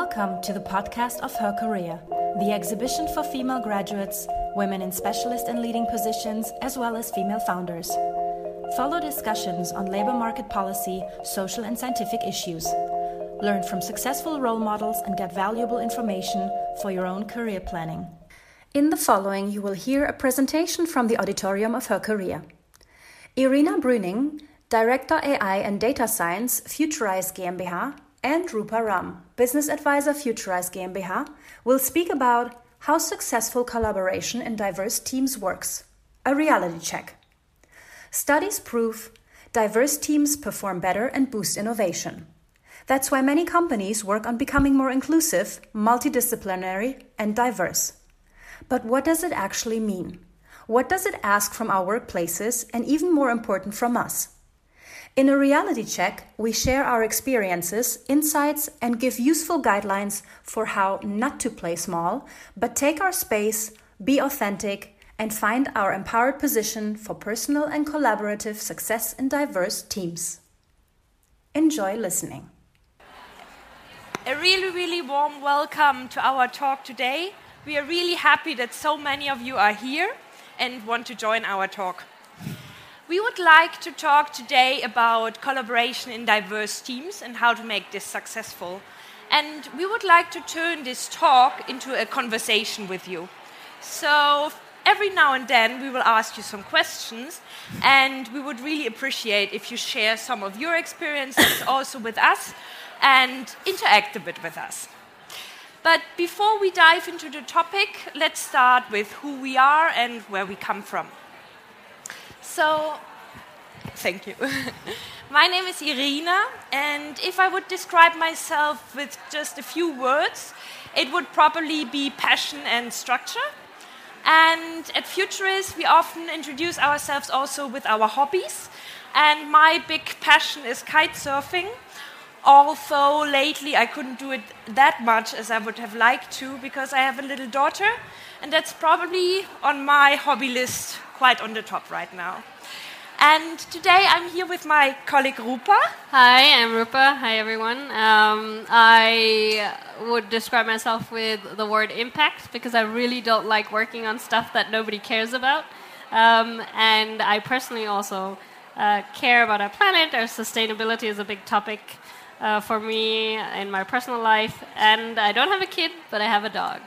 Welcome to the podcast of Her Career, the exhibition for female graduates, women in specialist and leading positions, as well as female founders. Follow discussions on labor market policy, social and scientific issues. Learn from successful role models and get valuable information for your own career planning. In the following, you will hear a presentation from the auditorium of Her Career. Irina Brüning, Director AI and Data Science, Futurize GmbH, and Rupa Ram, Business Advisor, Futurize GmbH, will speak about how successful collaboration in diverse teams works. A reality check. Studies prove diverse teams perform better and boost innovation. That's why many companies work on becoming more inclusive, multidisciplinary, and diverse. But what does it actually mean? What does it ask from our workplaces, and even more important, from us? In a reality check, we share our experiences, insights, and give useful guidelines for how not to play small, but take our space, be authentic, and find our empowered position for personal and collaborative success in diverse teams. Enjoy listening. A really warm welcome to our talk today. We are really happy that so many of you are here and want to join our talk. We would like to talk today about collaboration in diverse teams and how to make this successful. And we would like to turn this talk into a conversation with you. So every now and then we will ask you some questions, and we would really appreciate if you share some of your experiences also with us and interact a bit with us. But before we dive into the topic, let's start with who we are and where we come from. So, thank you. My name is Irina, and if I would describe myself with just a few words, it would probably be passion and structure. And at Futurize, we often introduce ourselves also with our hobbies. And my big passion is kite surfing. Although lately I couldn't do it that much as I would have liked to because I have a little daughter, and that's probably on my hobby list quite on the top right now. And today I'm here with my colleague Rupa. Hi, I'm Rupa. Hi, everyone. I would describe myself with the word impact because I really don't like working on stuff that nobody cares about. And I personally also care about our planet. Our sustainability is a big topic for me in my personal life. And I don't have a kid, but I have a dog.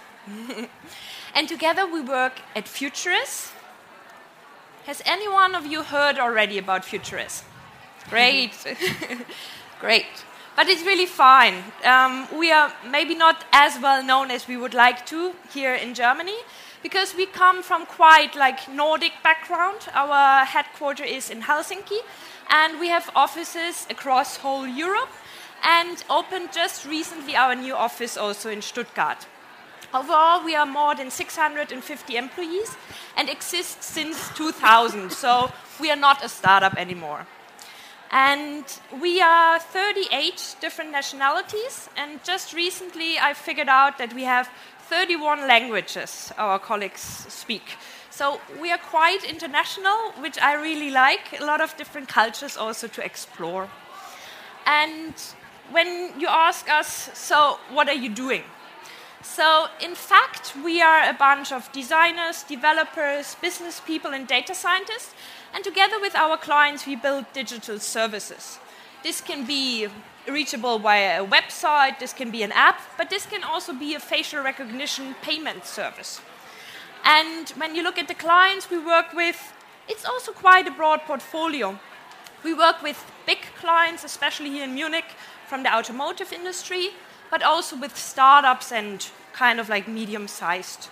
And together we work at Futurize. Has any one of you heard already about Futurize? Great. Great. But it's really fine. We are maybe not as well known as we would like to here in Germany because we come from quite like Nordic background. Our headquarters is in Helsinki, and we have offices across whole Europe and opened just recently our new office also in Stuttgart. Overall, we are more than 650 employees and exist since 2000, so we are not a startup anymore. And we are 38 different nationalities, and just recently I figured out that we have 31 languages our colleagues speak. So we are quite international, which I really like, a lot of different cultures also to explore. And when you ask us, so what are you doing? So, in fact, we are a bunch of designers, developers, business people, and data scientists. And together with our clients, we build digital services. This can be reachable via a website, this can be an app, but this can also be a facial recognition payment service. And when you look at the clients we work with, it's also quite a broad portfolio. We work with big clients, especially here in Munich, from the automotive industry, but also with startups and kind of like medium-sized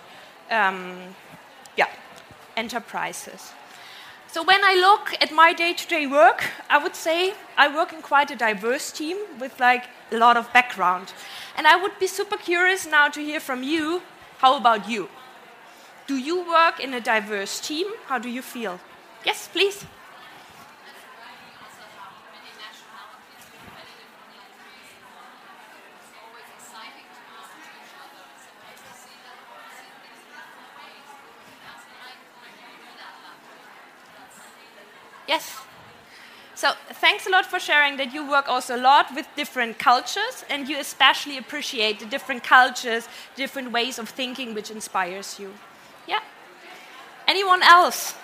enterprises. So when I look at my day-to-day work, I would say I work in quite a diverse team with like a lot of background. And I would be super curious now to hear from you. How about you? Do you work in a diverse team? How do you feel? Yes, please. Yes. So thanks a lot for sharing that you work also a lot with different cultures and you especially appreciate the different cultures, different ways of thinking which inspires you. Yeah. Anyone else?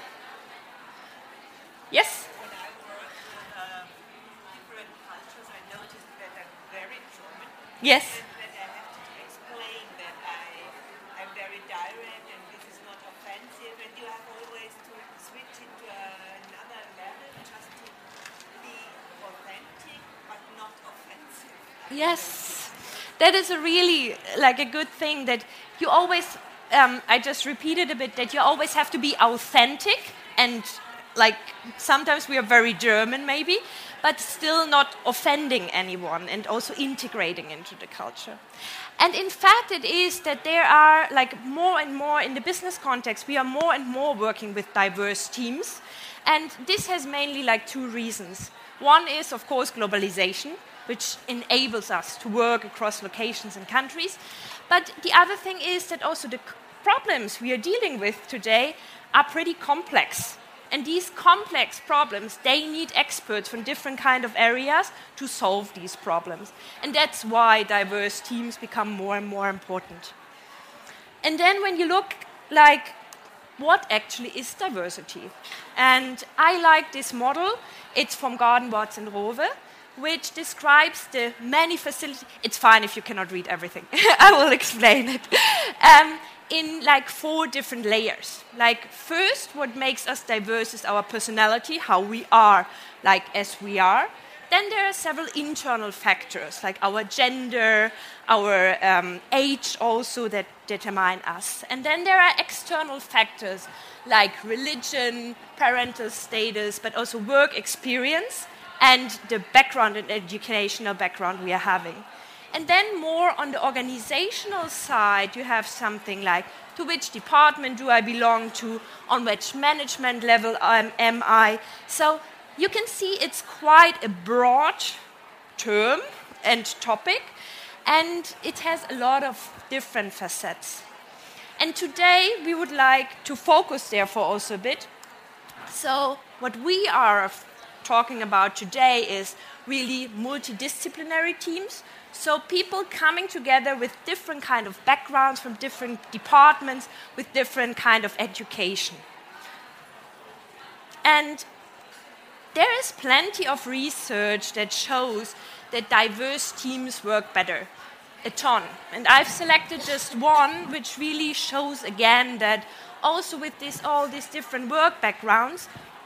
Yes? When I work with different cultures, I noticed that I'm very German. Yes. And that I have to explain that I'm very direct and this is not offensive. And you have always to switch into another level just to be authentic but not offensive. Yes. That is a really like a good thing that you always, I just repeated a bit, that you always have to be authentic and like sometimes we are very German maybe, but still not offending anyone and also integrating into the culture. And in fact it is that there are like more and more in the business context, we are more and more working with diverse teams. And this has mainly like two reasons. One is of course globalization, which enables us to work across locations and countries. But the other thing is that also the problems we are dealing with today are pretty complex. And these complex problems, they need experts from different kind of areas to solve these problems. And that's why diverse teams become more and more important. And then when you look like what actually is diversity? And I like this model. It's from Garden, Watts and Rowe, which describes the many facilities. It's fine if you cannot read everything. I will explain it. In like 4 different layers. Like first, what makes us diverse is our personality, how we are, like as we are. Then there are several internal factors, like our gender, our age also that determine us. And then there are external factors, like religion, parental status, but also work experience, and the background and educational background we are having. And then more on the organizational side, you have something like, to which department do I belong to, on which management level am I. So you can see it's quite a broad term and topic, and it has a lot of different facets. And today we would like to focus therefore also a bit. So what we are talking about today is really multidisciplinary teams. So people coming together with different kind of backgrounds from different departments with different kind of education. And there is plenty of research that shows that diverse teams work better. A ton. And I've selected just one which really shows again that also with all these different work backgrounds,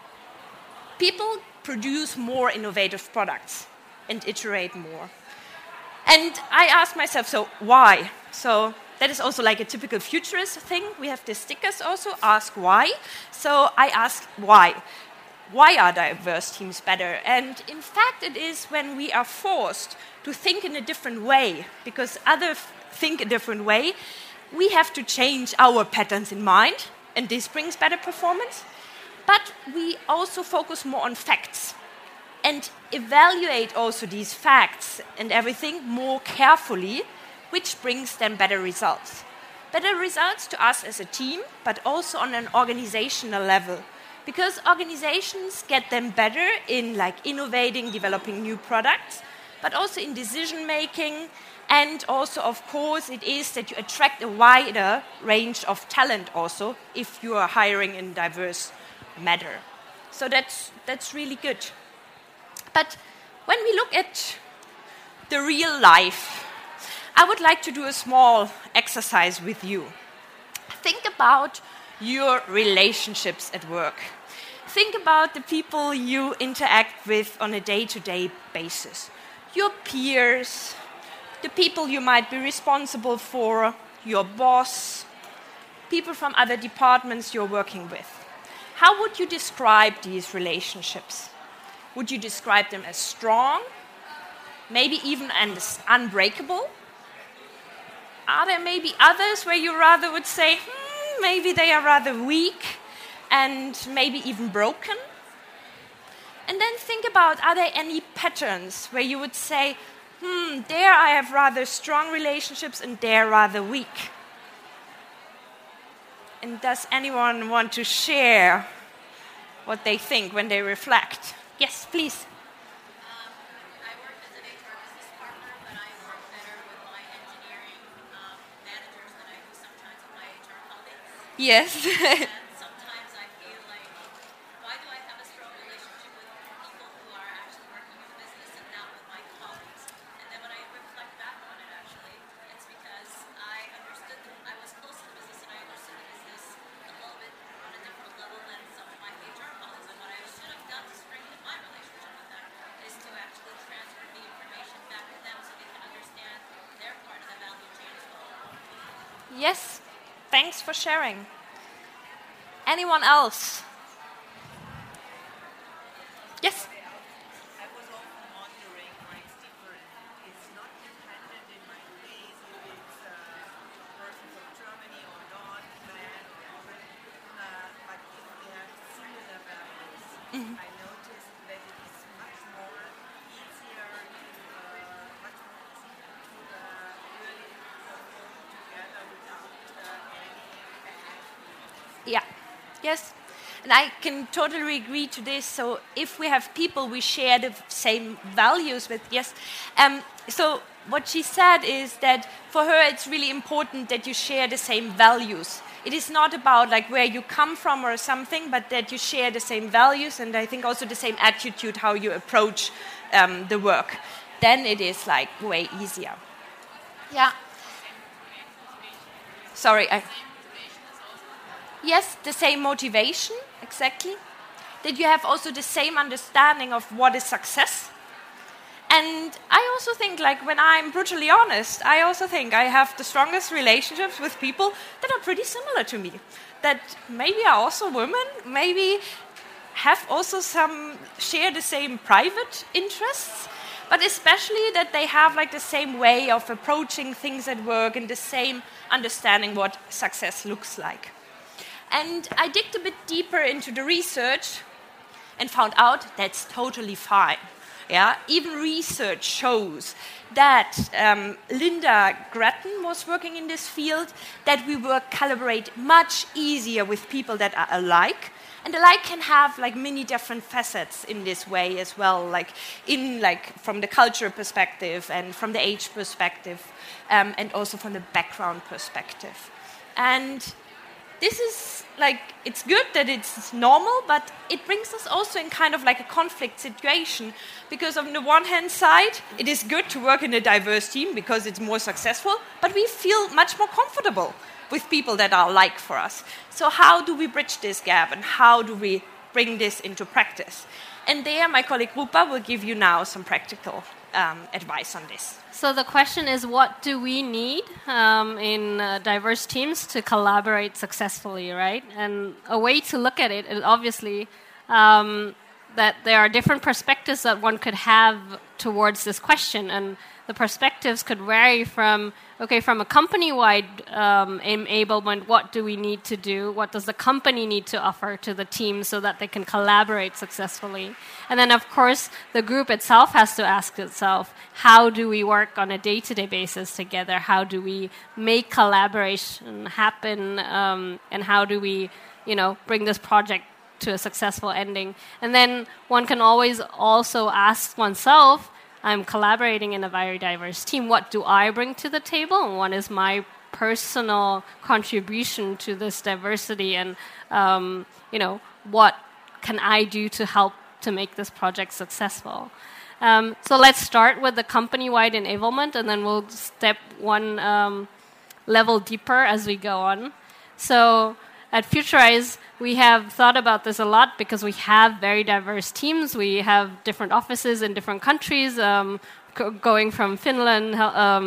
people produce more innovative products and iterate more. And I asked myself, so why? So that is also like a typical futurist thing. We have the stickers also, ask why. So I asked why. Why are diverse teams better? And in fact, it is when we are forced to think in a different way, because others think a different way, we have to change our patterns in mind, and this brings better performance. But we also focus more on facts and evaluate also these facts and everything more carefully, which brings then better results. Better results to us as a team, but also on an organizational level. Because organizations get them better in like innovating, developing new products, but also in decision making. And also, of course, it is that you attract a wider range of talent also if you are hiring in diverse manner. So that's really good. But when we look at the real life, I would like to do a small exercise with you. Think about your relationships at work. Think about the people you interact with on a day-to-day basis. Your peers, the people you might be responsible for, your boss, people from other departments you're working with. How would you describe these relationships? Would you describe them as strong? Maybe even as unbreakable? Are there maybe others where you rather would say, maybe they are rather weak and maybe even broken? And then think about, are there any patterns where you would say, there I have rather strong relationships and there rather weak? And does anyone want to share what they think when they reflect? Yes, please. I work as an HR business partner, but I work better with my engineering managers than I do sometimes with my HR colleagues. Yes. And sometimes I feel like, why do I have a strong relationship with people who are actually working in the business and not with my colleagues? And then when I reflect back on it, actually, it's because I understood I was close to the business and I understood the business a little bit on a different level than some of my HR colleagues. And what I should have done to strengthen my relationship with them is to actually transfer the information back to them so they can understand their part of the value chain as well. Yes, thanks for sharing. Anyone else? Yes? I was often wondering why it's different. It's not dependent in my case if it's a person from Germany or not, man or woman, but if they have similar values. I noticed that it is much more easier to really perform together without any bad. Yeah. Yes. And I can totally agree to this. So if we have people we share the same values with, yes. So what she said is that for her it's really important that you share the same values. It is not about like where you come from or something, but that you share the same values and I think also the same attitude how you approach the work. Then it is like way easier. Yeah. Sorry. Yes, the same motivation, exactly. That you have also the same understanding of what is success. And I also think, like, when I'm brutally honest, I also think I have the strongest relationships with people that are pretty similar to me. That maybe are also women, maybe have also share the same private interests, but especially that they have like the same way of approaching things at work and the same understanding what success looks like. And I digged a bit deeper into the research and found out that's totally fine. Yeah, even research shows that Linda Grattan was working in this field, that we collaborate much easier with people that are alike. And alike can have like many different facets in this way as well, like from the cultural perspective and from the age perspective, and also from the background perspective. And this is like, it's good that it's normal, but it brings us also in kind of like a conflict situation. Because on the one hand side, it is good to work in a diverse team because it's more successful, but we feel much more comfortable with people that are alike for us. So how do we bridge this gap and how do we bring this into practice? And there, my colleague Rupa will give you now some practical advice on this. So the question is, what do we need in diverse teams to collaborate successfully, right? And a way to look at it is obviously that there are different perspectives that one could have towards this question, and the perspectives could vary from a company-wide enablement, what do we need to do? What does the company need to offer to the team so that they can collaborate successfully? And then, of course, the group itself has to ask itself, how do we work on a day-to-day basis together? How do we make collaboration happen? And how do we, bring this project to a successful ending? And then one can always also ask oneself, I'm collaborating in a very diverse team. What do I bring to the table? And what is my personal contribution to this diversity? And, what can I do to help to make this project successful? So let's start with the company-wide enablement, and then we'll step one level deeper as we go on. So at Futurize, we have thought about this a lot because we have very diverse teams. We have different offices in different countries, going from Finland,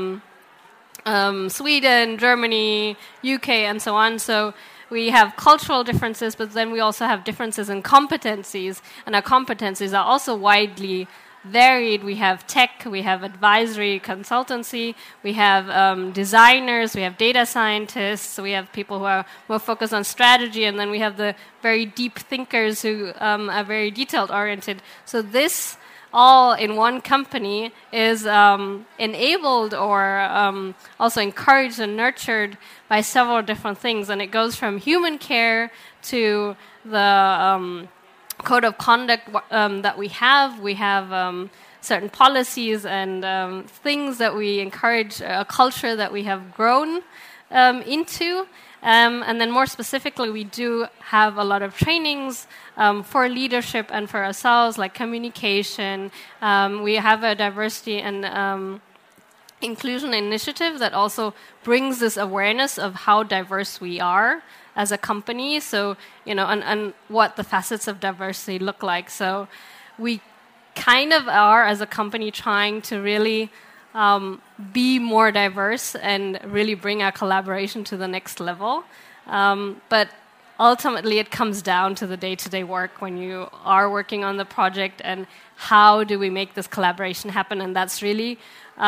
Sweden, Germany, UK, and so on. So we have cultural differences, but then we also have differences in competencies, and our competencies are also widely varied. We have tech, we have advisory consultancy, we have designers, we have data scientists, we have people who are more focused on strategy, and then we have the very deep thinkers who are very detailed oriented. So this all in one company is enabled or also encouraged and nurtured by several different things, and it goes from human care to the code of conduct that we have. We have certain policies and things that we encourage, a culture that we have grown into. And then more specifically, we do have a lot of trainings for leadership and for ourselves, like communication. We have a diversity and inclusion initiative that also brings this awareness of how diverse we are as a company. So, and what the facets of diversity look like. So we kind of are, as a company, trying to really be more diverse and really bring our collaboration to the next level. But ultimately, it comes down to the day-to-day work when you are working on the project and how do we make this collaboration happen. And that's really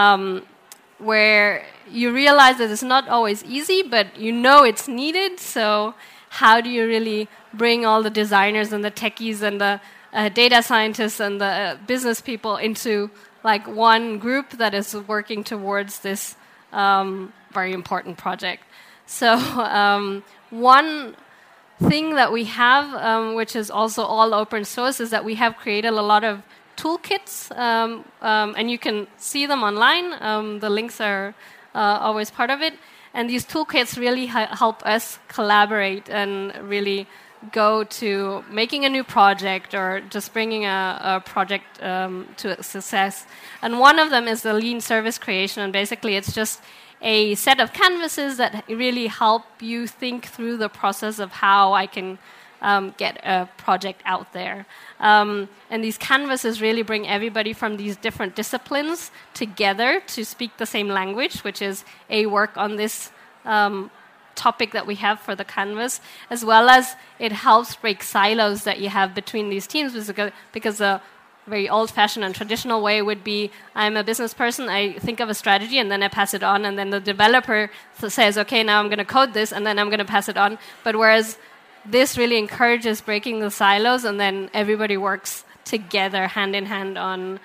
where you realize that it's not always easy, but it's needed. So how do you really bring all the designers and the techies and the data scientists and the business people into like one group that is working towards this very important project? So one thing that we have, which is also all open source, is that we have created a lot of toolkits, and you can see them online. The links are always part of it. And these toolkits really help us collaborate and really go to making a new project or just bringing a project to success. And one of them is the lean service creation. And basically, it's just a set of canvases that really help you think through the process of how I can get a project out there. And these canvases really bring everybody from these different disciplines together to speak the same language, which is work on this topic that we have for the canvas, as well as it helps break silos that you have between these teams, because the very old-fashioned and traditional way would be, I'm a business person, I think of a strategy, and then I pass it on, and then the developer says, okay, now I'm going to code this, and then I'm going to pass it on. But whereas this really encourages breaking the silos, and then everybody works together, hand in hand, on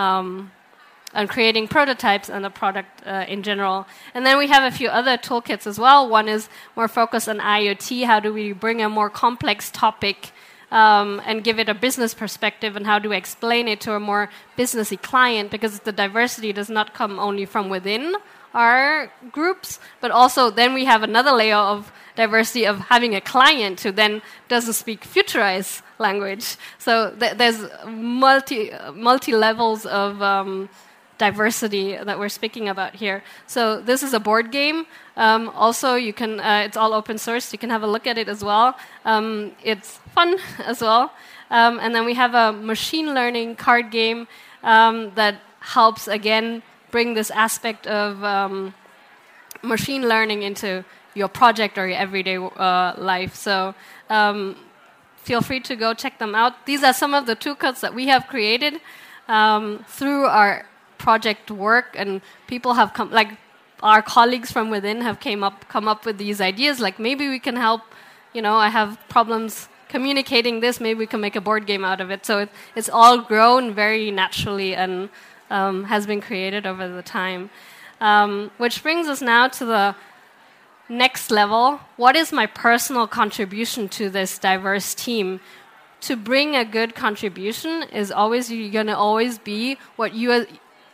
creating prototypes and the product in general. And then we have a few other toolkits as well. One is more focused on IoT. How do we bring a more complex topic and give it a business perspective, and how do we explain it to a more businessy client? Because the diversity does not come only from within our groups, but also then we have another layer of diversity of having a client who then doesn't speak Futurice language. So there's multi levels of diversity that we're speaking about here. So this is a board game. Also, you can it's all open source. You can have a look at it as well. It's fun as well. And then we have a machine learning card game that helps, again, bring this aspect of machine learning into your project or your everyday life. So feel free to go check them out. These are some of the toolkits that we have created through our project work, and people have come, like our colleagues from within have come up with these ideas, like maybe we can help, I have problems communicating this, maybe we can make a board game out of it. So it's all grown very naturally and has been created over the time. Which brings us now to the next level. What is my personal contribution to this diverse team? To bring a good contribution is always, you're going to always be what you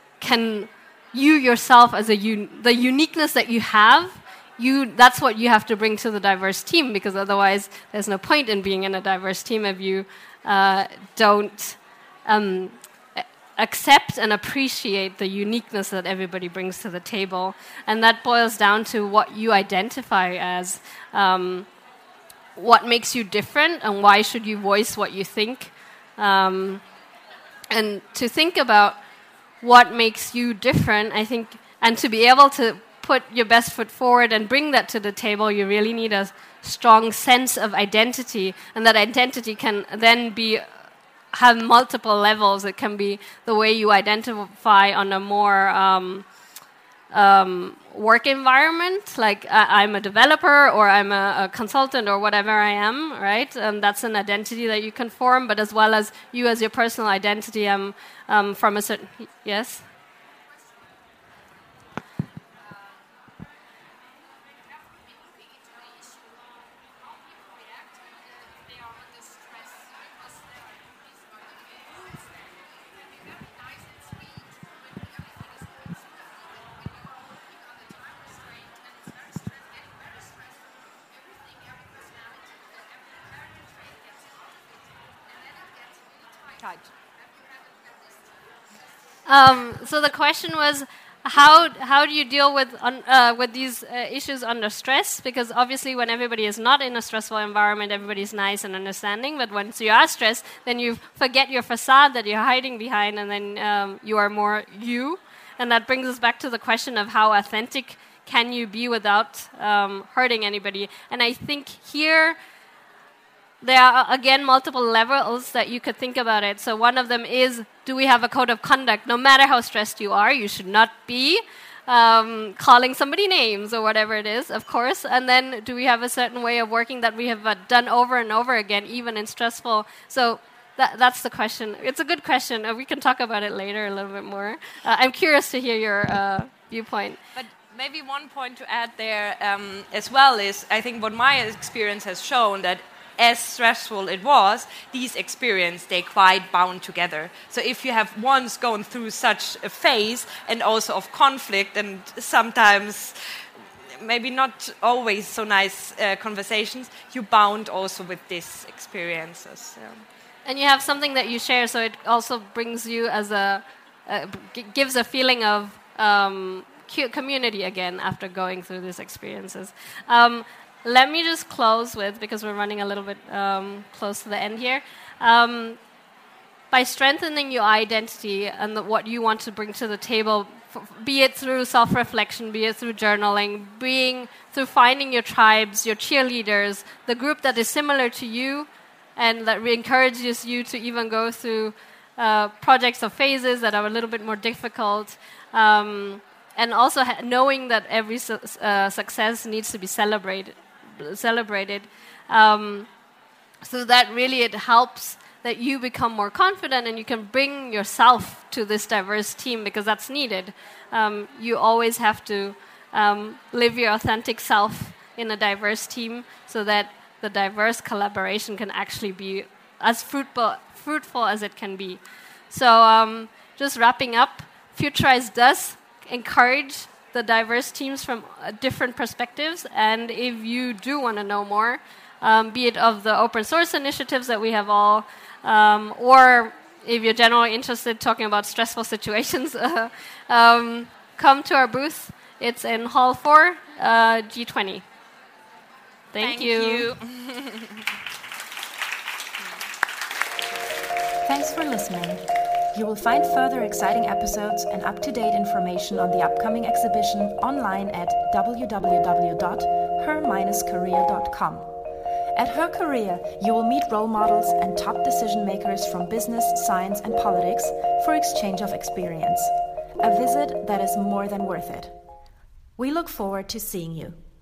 yourself as the uniqueness that you have, that's what you have to bring to the diverse team, because otherwise there's no point in being in a diverse team if you don't accept and appreciate the uniqueness that everybody brings to the table. And that boils down to what you identify as, what makes you different, and why should you voice what you think. And to think about what makes you different, I think, and to be able to put your best foot forward and bring that to the table, you really need a strong sense of identity, and that identity can then have multiple levels. It can be the way you identify on a more work environment, like I'm a developer or I'm a consultant or whatever I am, right? That's an identity that you can form, but as well as you as your personal identity, from a certain... Yes? So the question was, how do you deal with these issues under stress? Because obviously, when everybody is not in a stressful environment, everybody's nice and understanding. But once you are stressed, then you forget your facade that you're hiding behind, and then you are more you. And that brings us back to the question of how authentic can you be without hurting anybody? And I think here there are, again, multiple levels that you could think about it. So one of them is, do we have a code of conduct? No matter how stressed you are, you should not be calling somebody names or whatever it is, of course. And then do we have a certain way of working that we have done over and over again, even in stressful? So that's the question. It's a good question. We can talk about it later a little bit more. I'm curious to hear your viewpoint. But maybe one point to add there as well is, I think what my experience has shown that as stressful it was, these experiences, they quite bound together. So if you have once gone through such a phase, and also of conflict, and sometimes maybe not always so nice conversations, you bound also with these experiences. Yeah. And you have something that you share, so it also brings you as gives a feeling of community again after going through these experiences. Let me just close with, because we're running a little bit close to the end here, by strengthening your identity and what you want to bring to the table, be it through self-reflection, be it through journaling, through finding your tribes, your cheerleaders, the group that is similar to you and that encourages you to even go through projects or phases that are a little bit more difficult, and also knowing that every success needs to be celebrated, so that really it helps that you become more confident and you can bring yourself to this diverse team, because that's needed. You always have to live your authentic self in a diverse team so that the diverse collaboration can actually be as fruitful as it can be. So just wrapping up, Futurize does encourage the diverse teams from different perspectives, and if you do want to know more, be it of the open source initiatives that we have all, or if you're generally interested talking about stressful situations, come to our booth. It's in Hall 4, G20. Thank you. Thanks for listening. You will find further exciting episodes and up-to-date information on the upcoming exhibition online at www.her-career.com. At Her Career, you will meet role models and top decision makers from business, science, and politics for exchange of experience. A visit that is more than worth it. We look forward to seeing you.